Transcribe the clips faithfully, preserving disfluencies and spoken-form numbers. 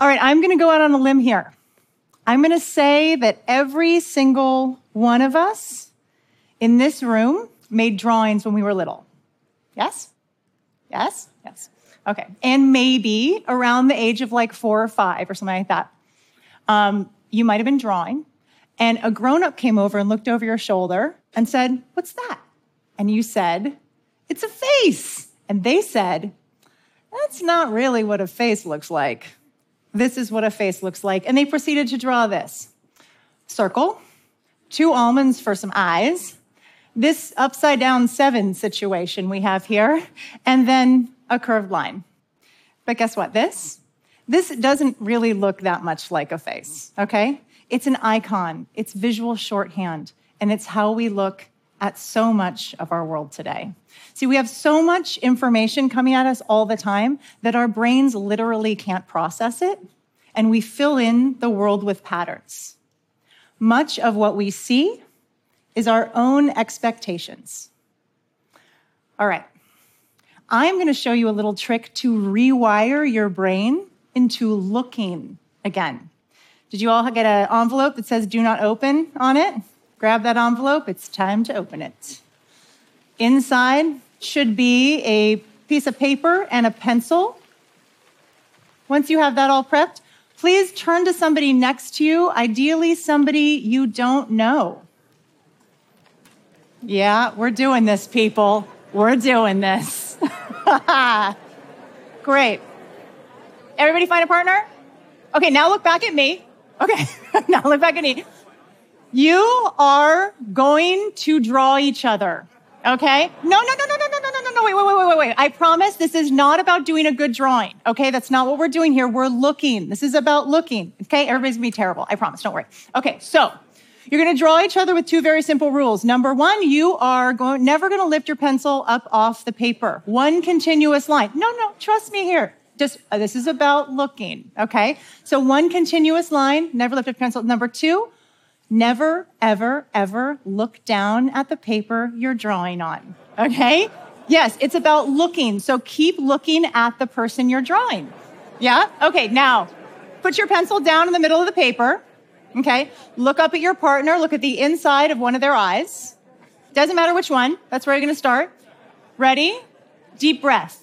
All right, I'm going to go out on a limb here. I'm going to say that every single one of us in this room made drawings when we were little. Yes? Yes? Yes. Okay. And maybe around the age of like four or five or something like that, um, you might have been drawing, and a grown-up came over and looked over your shoulder and said, "What's that?" And you said, "It's a face." And they said, "That's not really what a face looks like. This is what a face looks like." And they proceeded to draw this circle, two almonds for some eyes, this upside down seven situation we have here, and then a curved line. But guess what? This, this doesn't really look that much like a face, okay? It's an icon, it's visual shorthand, and it's how we look at so much of our world today. See, we have so much information coming at us all the time that our brains literally can't process it, and we fill in the world with patterns. Much of what we see is our own expectations. All right, I'm gonna show you a little trick to rewire your brain into looking again. Did you all get an envelope that says "do not open" on it? Grab that envelope, it's time to open it. Inside should be a piece of paper and a pencil. Once you have that all prepped, please turn to somebody next to you, ideally somebody you don't know. Yeah, we're doing this, people. We're doing this. Great. Everybody find a partner? Okay, now look back at me. Okay, now look back at me. You are going to draw each other, okay? No, no, no, no, no, no, no, no, no, no, wait, wait, wait, wait, wait. I promise this is not about doing a good drawing, okay? That's not what we're doing here. We're looking. This is about looking, okay? Everybody's gonna be terrible. I promise, don't worry. Okay, so you're gonna draw each other with two very simple rules. Number one, you are going, never gonna lift your pencil up off the paper. One continuous line. No, no, trust me here. Just, uh, this is about looking, okay? So one continuous line, never lift your pencil. Number two, never, ever, ever look down at the paper you're drawing on, okay? Yes, it's about looking, so keep looking at the person you're drawing. Yeah? Okay, now, put your pencil down in the middle of the paper, okay? Look up at your partner, look at the inside of one of their eyes. Doesn't matter which one, that's where you're gonna start. Ready? Deep breath.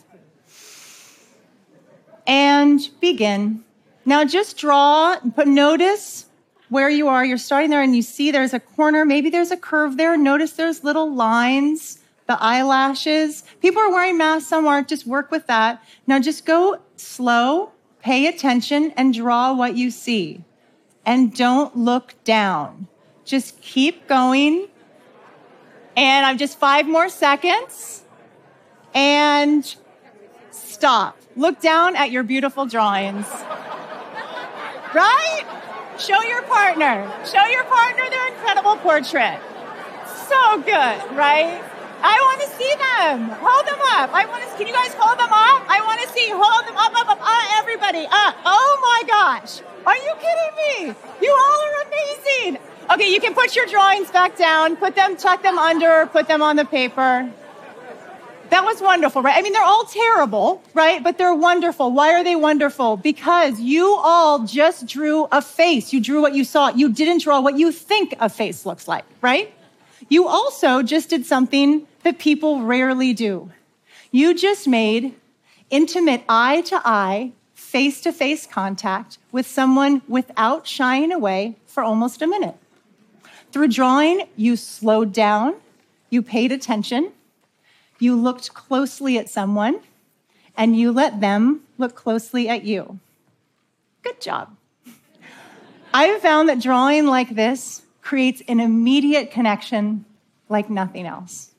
And begin. Now just draw, but notice where you are. You're starting there and you see there's a corner, maybe there's a curve there. Notice there's little lines, the eyelashes. People are wearing masks, some aren't, just work with that. Now just go slow, pay attention, and draw what you see. And don't look down. Just keep going. And I'm just five more seconds. And stop. Look down at your beautiful drawings. Right? Show your partner. Show your partner their incredible portrait. So good, right? I want to see them. Hold them up. I want to. Can you guys hold them up? I want to see. Hold them up, up, up. Uh, everybody. Uh, oh my gosh. Are you kidding me? You all are amazing. Okay, you can put your drawings back down. Put them, tuck them under. Put them on the paper. That was wonderful, right? I mean, they're all terrible, right? But they're wonderful. Why are they wonderful? Because you all just drew a face. You drew what you saw. You didn't draw what you think a face looks like, right? You also just did something that people rarely do. You just made intimate eye-to-eye, face-to-face contact with someone without shying away for almost a minute. Through drawing, you slowed down, you paid attention, you looked closely at someone, and you let them look closely at you. Good job. I've found that drawing like this creates an immediate connection like nothing else.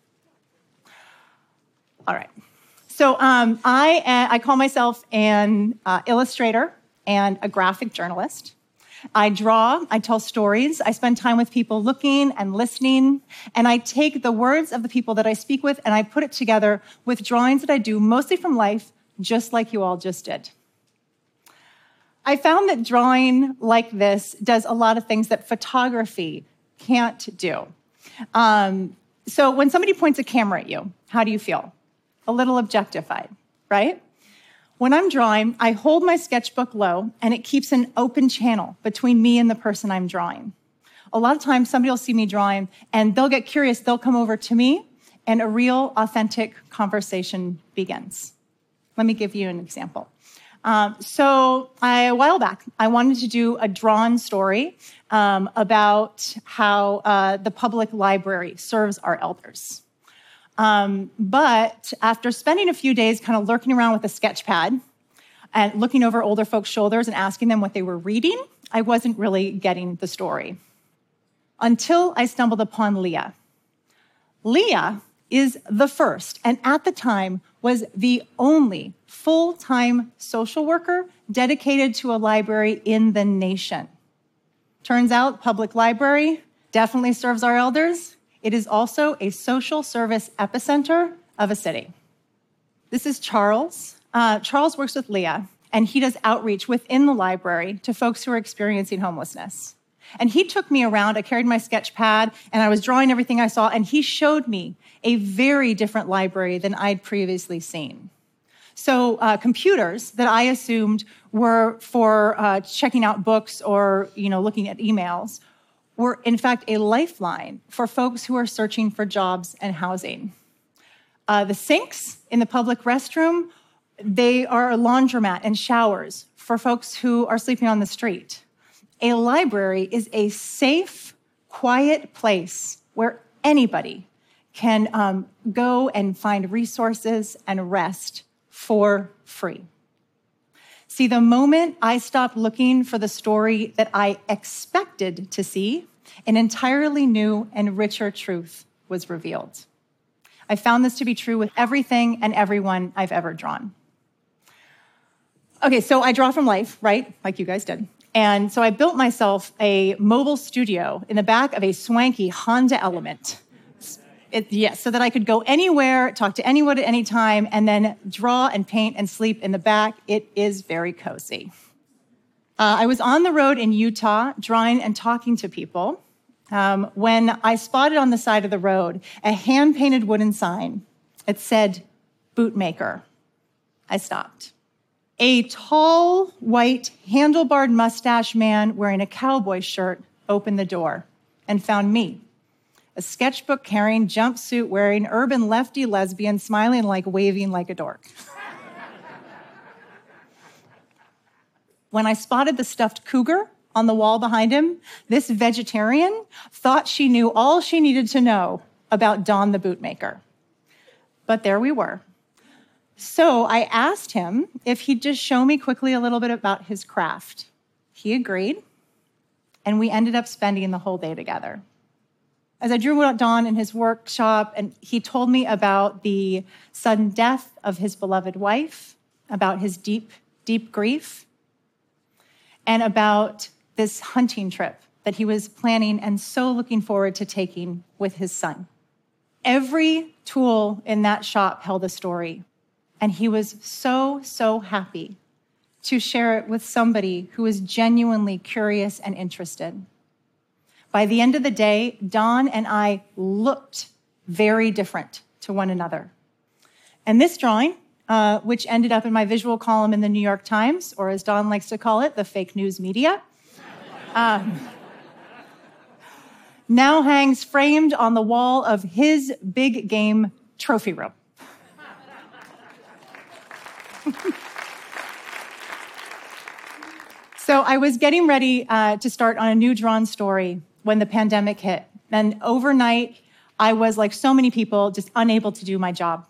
All right. So um, I, uh, I call myself an uh, illustrator and a graphic journalist. I draw, I tell stories, I spend time with people looking and listening, and I take the words of the people that I speak with and I put it together with drawings that I do mostly from life, just like you all just did. I found that drawing like this does a lot of things that photography can't do. Um, so when somebody points a camera at you, how do you feel? A little objectified, right? When I'm drawing, I hold my sketchbook low, and it keeps an open channel between me and the person I'm drawing. A lot of times, somebody will see me drawing, and they'll get curious. They'll come over to me, and a real, authentic conversation begins. Let me give you an example. Um, so I, a while back, I wanted to do a drawn story um, about how uh, the public library serves our elders. Um, but after spending a few days kind of lurking around with a sketch pad and looking over older folks' shoulders and asking them what they were reading, I wasn't really getting the story. Until I stumbled upon Leah. Leah is the first, and at the time was the only full-time social worker dedicated to a library in the nation. Turns out, public library definitely serves our elders. It is also a social service epicenter of a city. This is Charles. Uh, Charles works with Leah, and he does outreach within the library to folks who are experiencing homelessness. And he took me around. I carried my sketch pad, and I was drawing everything I saw, and he showed me a very different library than I'd previously seen. So uh, computers that I assumed were for uh, checking out books or, you know, looking at emails were, in fact, a lifeline for folks who are searching for jobs and housing. Uh, the sinks in the public restroom, they are a laundromat and showers for folks who are sleeping on the street. A library is a safe, quiet place where anybody can um, go and find resources and rest for free. See, the moment I stopped looking for the story that I expected to see, an entirely new and richer truth was revealed. I found this to be true with everything and everyone I've ever drawn. Okay, so I draw from life, right? Like you guys did. And so I built myself a mobile studio in the back of a swanky Honda Element. It, yes, so that I could go anywhere, talk to anyone at any time, and then draw and paint and sleep in the back. It is very cozy. Uh, I was on the road in Utah, drawing and talking to people, um, when I spotted on the side of the road a hand-painted wooden sign. It said, "Bootmaker." I stopped. A tall, white, handlebarred mustache man wearing a cowboy shirt opened the door and found me, a sketchbook-carrying, jumpsuit-wearing, urban lefty lesbian, smiling like waving like a dork. When I spotted the stuffed cougar on the wall behind him, this vegetarian thought she knew all she needed to know about Don the Bootmaker. But there we were. So I asked him if he'd just show me quickly a little bit about his craft. He agreed, and we ended up spending the whole day together. As I drew out Don in his workshop, and he told me about the sudden death of his beloved wife, about his deep, deep grief, and about this hunting trip that he was planning and so looking forward to taking with his son. Every tool in that shop held a story, and he was so, so happy to share it with somebody who was genuinely curious and interested. By the end of the day, Don and I looked very different to one another. And this drawing, uh, which ended up in my visual column in the New York Times, or as Don likes to call it, the fake news media, um, now hangs framed on the wall of his big game trophy room. So I was getting ready uh, to start on a new drawn story when the pandemic hit. And overnight, I was, like so many people, just unable to do my job.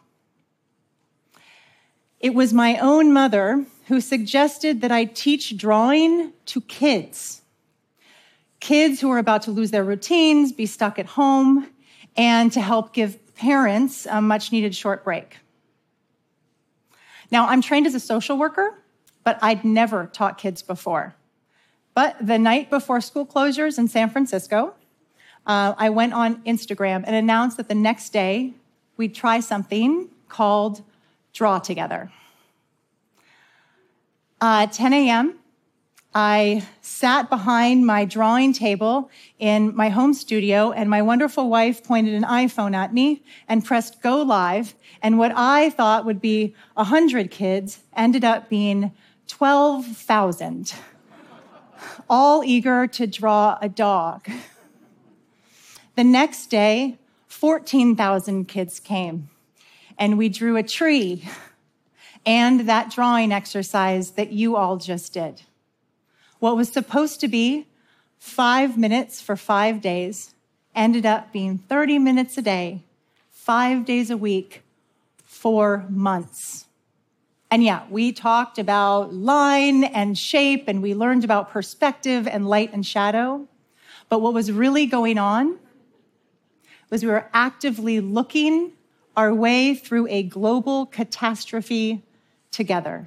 It was my own mother who suggested that I teach drawing to kids. Kids who were about to lose their routines, be stuck at home, and to help give parents a much-needed short break. Now, I'm trained as a social worker, but I'd never taught kids before. But the night before school closures in San Francisco, uh, I went on Instagram and announced that the next day we'd try something called Draw Together. Uh, at ten a.m., I sat behind my drawing table in my home studio, and my wonderful wife pointed an iPhone at me and pressed go live. And what I thought would be one hundred kids ended up being twelve thousand, all eager to draw a dog. The next day, fourteen thousand kids came, and we drew a tree and that drawing exercise that you all just did. What was supposed to be five minutes for five days ended up being thirty minutes a day, five days a week, for months. And yeah, we talked about line and shape, and we learned about perspective and light and shadow. But what was really going on was we were actively looking our way through a global catastrophe together.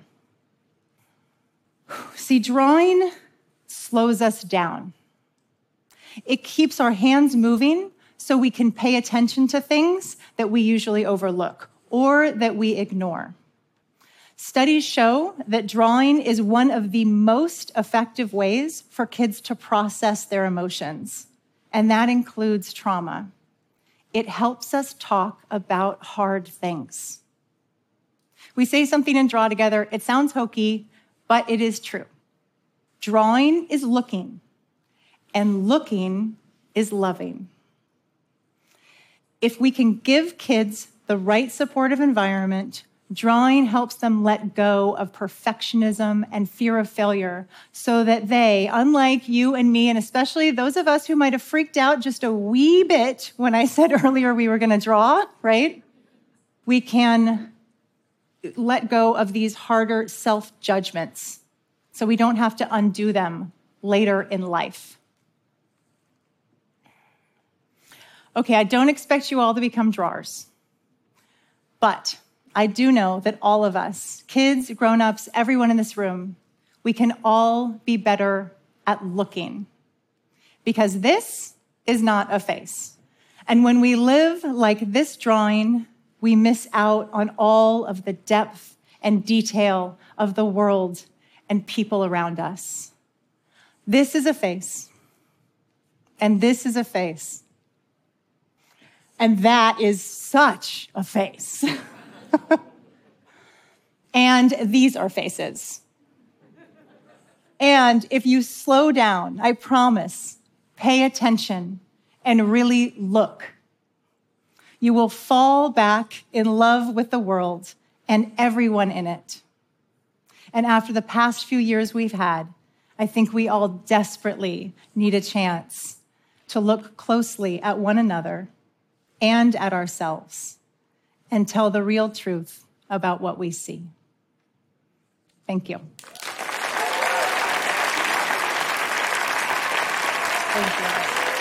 See, drawing slows us down. It keeps our hands moving so we can pay attention to things that we usually overlook or that we ignore. Studies show that drawing is one of the most effective ways for kids to process their emotions, and that includes trauma. It helps us talk about hard things. We say something and draw together. It sounds hokey, but it is true. Drawing is looking, and looking is loving. If we can give kids the right supportive environment, drawing helps them let go of perfectionism and fear of failure so that they, unlike you and me, and especially those of us who might have freaked out just a wee bit when I said earlier we were going to draw, right? We can let go of these harder self-judgments so we don't have to undo them later in life. Okay, I don't expect you all to become drawers, but I do know that all of us, kids, grown-ups, everyone in this room, we can all be better at looking, because this is not a face. And when we live like this drawing, we miss out on all of the depth and detail of the world and people around us. This is a face, and this is a face, and that is such a face. And these are faces. And if you slow down, I promise, pay attention and really look, you will fall back in love with the world and everyone in it. And after the past few years we've had, I think we all desperately need a chance to look closely at one another and at ourselves and tell the real truth about what we see. Thank you. Thank you.